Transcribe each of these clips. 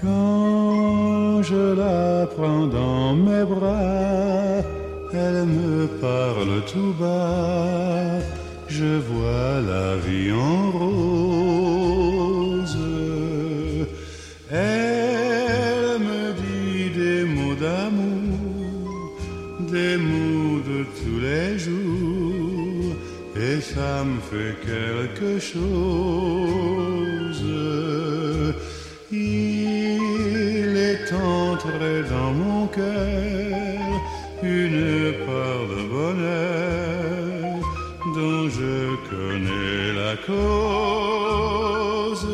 Quand je la prends dans mes bras, elle me parle tout bas, je vois la vie en rose. Elle me dit des mots d'amour, des mots de tous les jours, et ça me fait quelque chose. Il est entré dans mon cœur une part de bonheur dont je connais la cause.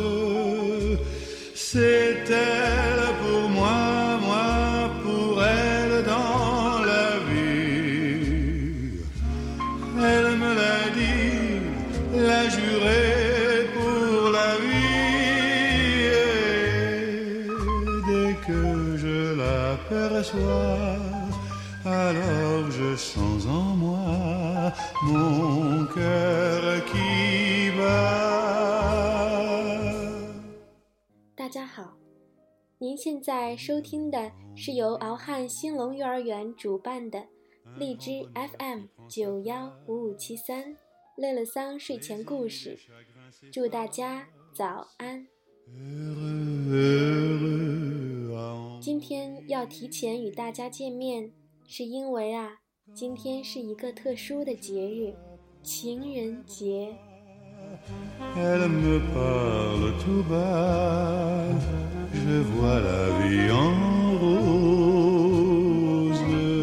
C'est elle pour moi, moi pour elle dans la vie. Elle me l'a dit, l'a juré pour la vie. Et dès que je l'aperçois, alors je sens en moi mon cœur qui bat。 大家好，您现在收听的是由敖汉兴隆幼儿园主办的荔枝 FM915573乐乐桑睡前故事，祝大家早安。今天要提前与大家见面，是因为今天是一个特殊的节日，情人节。 Elle me parle tout bas, je vois la vie en rose.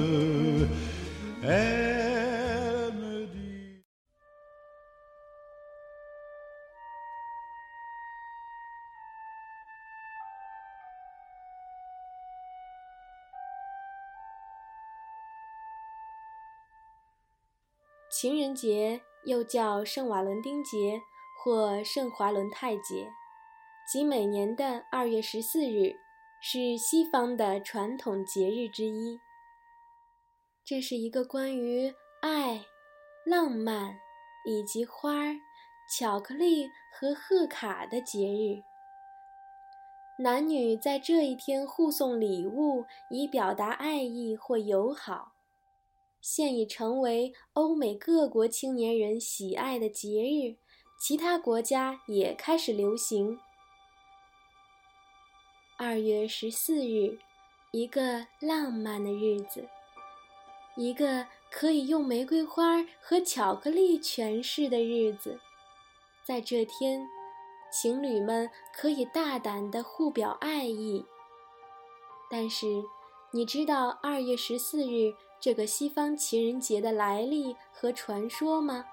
Elle me dit... 情人节又叫圣瓦伦丁节或圣华伦泰节，即每年的2月14日，是西方的传统节日之一。这是一个关于爱、浪漫以及花、巧克力和贺卡的节日。男女在这一天互送礼物，以表达爱意或友好，现已成为欧美各国青年人喜爱的节日，其他国家也开始流行。2月14日，一个浪漫的日子，一个可以用玫瑰花和巧克力诠释的日子。在这天，情侣们可以大胆地互表爱意。但是，你知道2月14日这个西方情人节的来历和传说吗？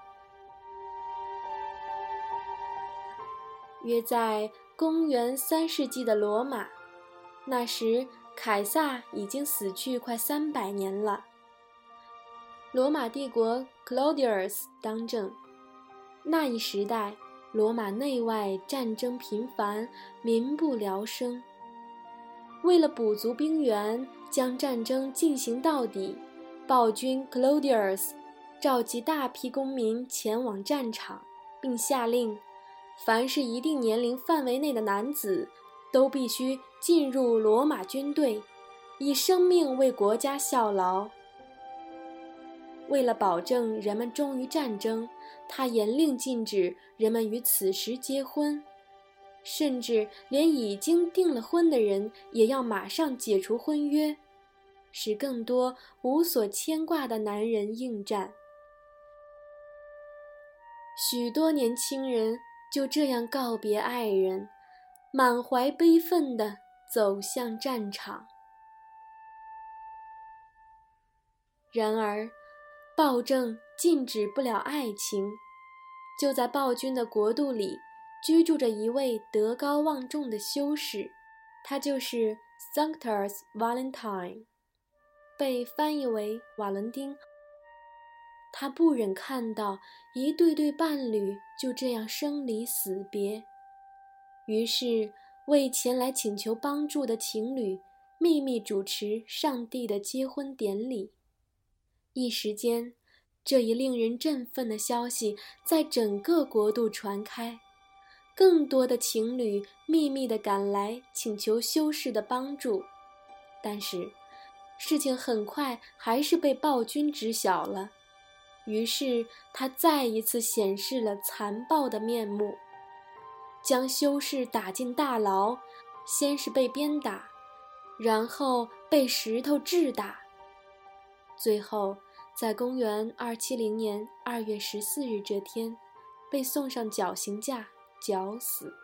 约在公元3世纪的罗马，那时凯撒已经死去快300年了。罗马帝国 Claudius 当政，那一时代罗马内外战争频繁，民不聊生。为了补足兵源，将战争进行到底，暴君 Claudius 召集大批公民前往战场，并下令凡是一定年龄范围内的男子都必须进入罗马军队，以生命为国家效劳。为了保证人们忠于战争，他严令禁止人们于此时结婚，甚至连已经订了婚的人也要马上解除婚约，使更多无所牵挂的男人应战。许多年轻人就这样告别爱人，满怀悲愤地走向战场。然而，暴政禁止不了爱情。就在暴君的国度里，居住着一位德高望重的修士，他就是 Sanctus Valentine， 被翻译为瓦伦丁。他不忍看到一对对伴侣就这样生离死别，于是为前来请求帮助的情侣秘密主持上帝的结婚典礼。一时间，这一令人振奋的消息在整个国度传开， 更多的情侣秘密地赶来请求修士的帮助，但是事情很快还是被暴君知晓了。于是他再一次显示了残暴的面目，将修士打进大牢，先是被鞭打，然后被石头掷打，最后在公元270年2月14日这天被送上绞刑架绞死。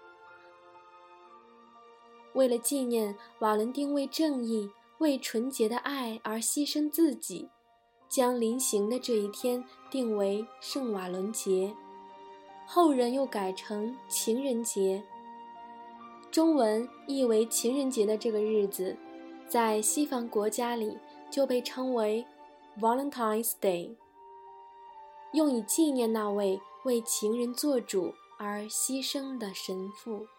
为了纪念瓦伦丁为正义、为纯洁的爱而牺牲自己，将临刑的这一天定为圣瓦伦节，后人又改成情人节。中文译为情人节的这个日子，在西方国家里就被称为 Valentine's Day， 用以纪念那位为情人做主而牺牲的神父。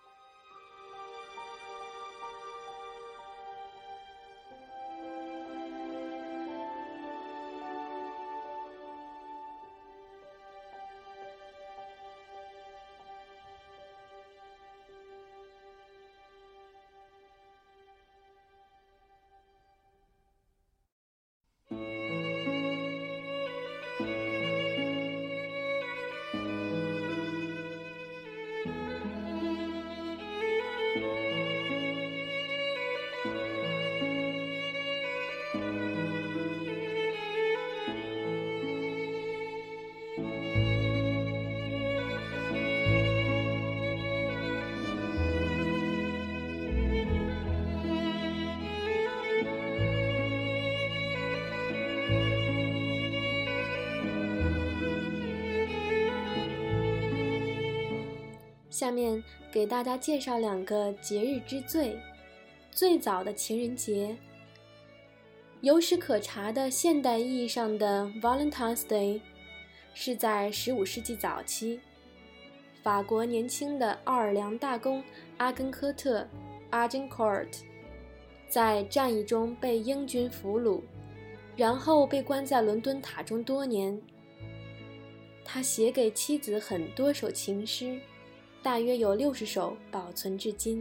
下面给大家介绍2个节日之最。最早的情人节，有史可查的现代意义上的 Valentine's Day 是在15世纪早期，法国年轻的奥尔良大公阿根科特 Agincourt 在战役中被英军俘虏，然后被关在伦敦塔中多年。他写给妻子很多首情诗，大约有60首保存至今。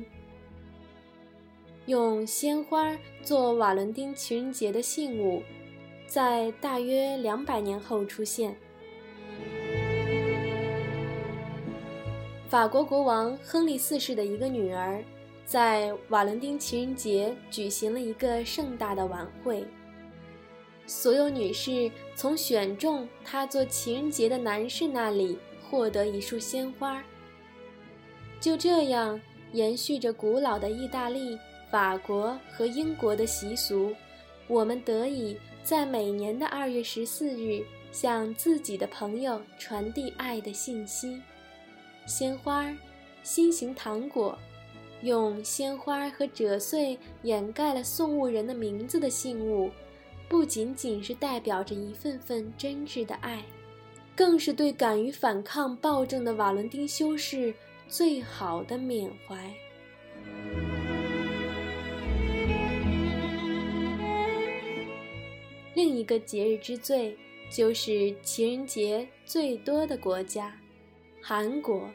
用鲜花做瓦伦丁情人节的信物，在大约200年后出现。法国国王亨利4世的一个女儿，在瓦伦丁情人节举行了一个盛大的晚会。所有女士从选中她做情人节的男士那里获得一束鲜花。就这样，延续着古老的意大利、法国和英国的习俗，我们得以在每年的2月14日向自己的朋友传递爱的信息。鲜花、心形糖果，用鲜花和赭穗掩盖了送物人的名字的信物，不仅仅是代表着一份份真挚的爱，更是对敢于反抗暴政的瓦伦丁修士最好的缅怀。另一个节日之最，就是情人节最多的国家——韩国。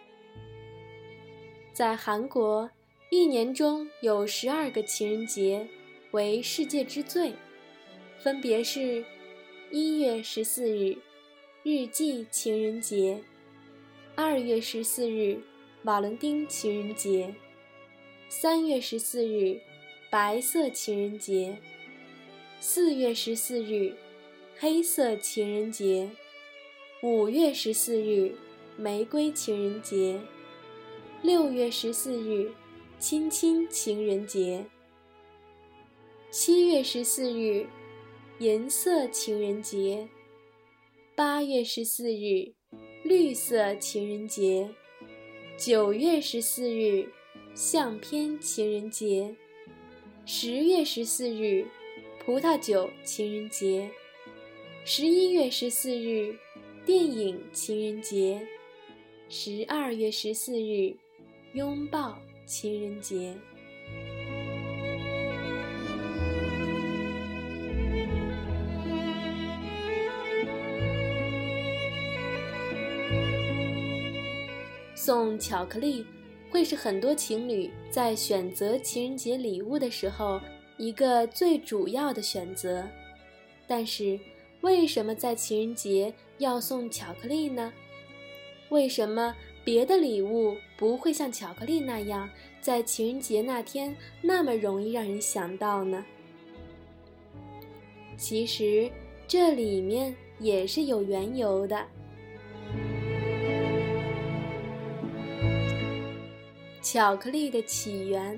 在韩国，一年中有12个情人节，为世界之最，分别是1月14日日记情人节，2月14日瓦伦丁情人节，3月14日白色情人节，4月14日黑色情人节，5月14日玫瑰情人节，6月14日亲亲情人节，7月14日银色情人节，8月14日绿色情人节，9月14日相片情人节，10月14日葡萄酒情人节，11月14日电影情人节，12月14日拥抱情人节。 送巧克力会是很多情侣在选择情人节礼物的时候一个最主要的选择。但是为什么在情人节要送巧克力呢？为什么别的礼物不会像巧克力那样在情人节那天那么容易让人想到呢？其实这里面也是有缘由的。巧克力的起源，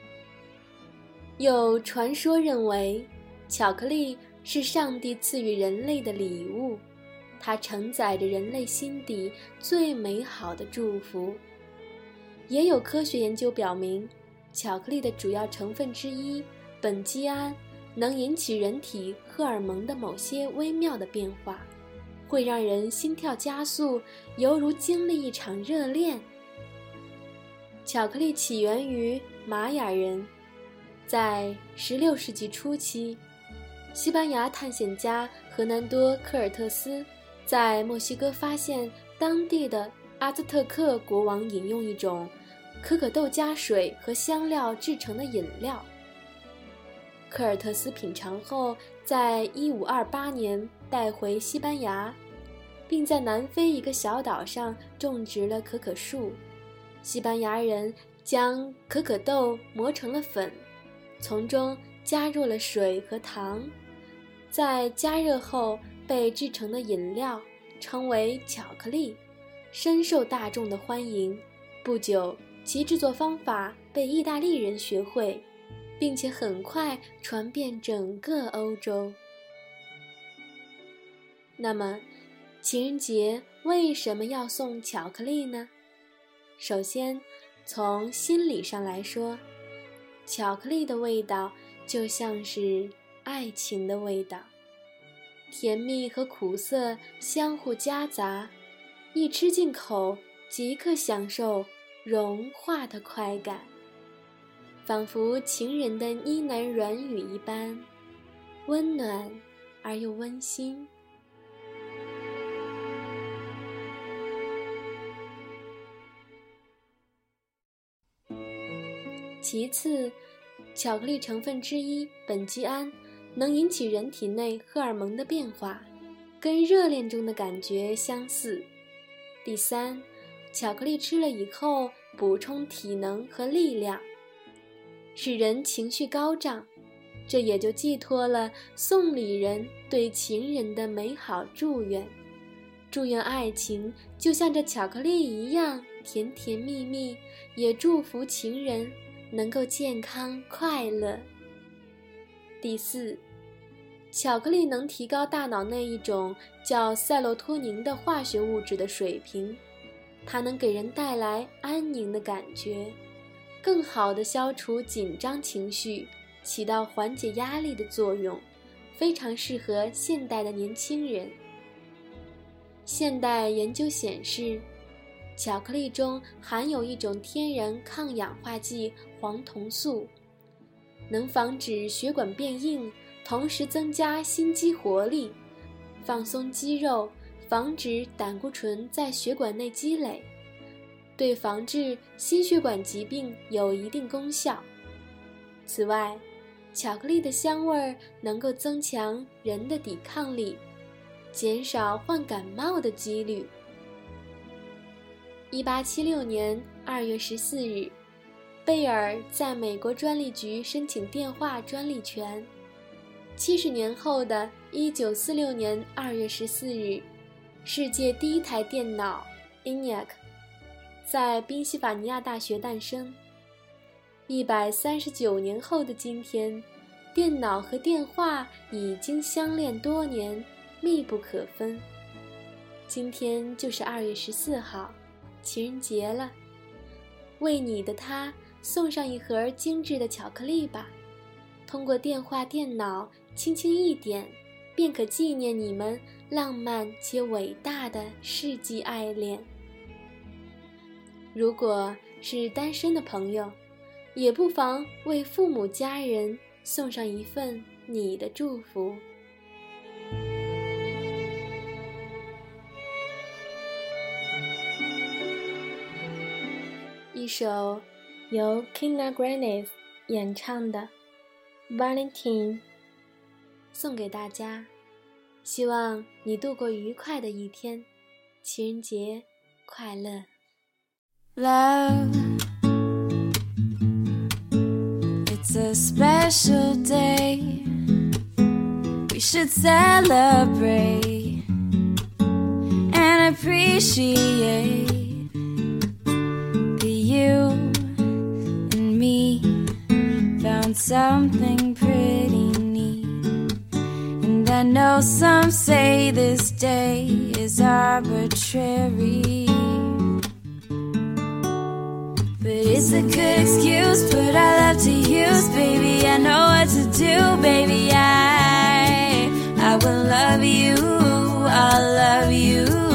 有传说认为巧克力是上帝赐予人类的礼物，它承载着人类心底最美好的祝福。也有科学研究表明，巧克力的主要成分之一苯基胺能引起人体荷尔蒙的某些微妙的变化，会让人心跳加速，犹如经历一场热恋。巧克力起源于玛雅人，在16世纪初期，西班牙探险家荷南多·科尔特斯在墨西哥发现当地的阿兹特克国王饮用一种可可豆加水和香料制成的饮料。科尔特斯品尝后，在1528年带回西班牙，并在南非一个小岛上种植了可可树。西班牙人将可可豆磨成了粉，从中加入了水和糖，在加热后被制成的饮料称为巧克力，深受大众的欢迎。不久，其制作方法被意大利人学会，并且很快传遍整个欧洲。那么，情人节为什么要送巧克力呢？首先，从心理上来说，巧克力的味道就像是爱情的味道，甜蜜和苦涩相互夹杂，一吃进口即刻享受融化的快感，仿佛情人的呢喃软语一般，温暖而又温馨。其次，巧克力成分之一苯基胺能引起人体内荷尔蒙的变化，跟热恋中的感觉相似。第三，巧克力吃了以后补充体能和力量，使人情绪高涨，这也就寄托了送礼人对情人的美好祝愿，祝愿爱情就像这巧克力一样甜甜蜜蜜，也祝福情人能够健康快乐。第四，巧克力能提高大脑内一种叫赛洛托宁的化学物质的水平，它能给人带来安宁的感觉，更好地消除紧张情绪，起到缓解压力的作用，非常适合现代的年轻人。现代研究显示，巧克力中含有一种天然抗氧化剂黄酮素，能防止血管变硬，同时增加心肌活力，放松肌肉，防止胆固醇在血管内积累，对防治心血管疾病有一定功效。此外，巧克力的香味能够增强人的抵抗力，减少患感冒的几率。1876年2月14日，贝尔在美国专利局申请电话专利权。70年后的1946年2月14日，世界第一台电脑 ENIAC 在宾夕法尼亚大学诞生。139年后的今天，电脑和电话已经相恋多年，密不可分。今天就是2月14号，情人节了，为你的他送上一盒精致的巧克力吧。通过电话、电脑，轻轻一点，便可纪念你们浪漫且伟大的世纪爱恋。如果是单身的朋友，也不妨为父母家人送上一份你的祝福。 一首由 Kina Grannis 演唱的 Valentine 送给大家，希望你度过愉快的一天，情人节快乐。 Love, it's a special day, we should celebrate and appreciate that you and me found something pretty neat. And I know some say this day is arbitrary, but it's a good excuse, put our love to use, baby. I know what to do, baby. I will love you, I'll love you.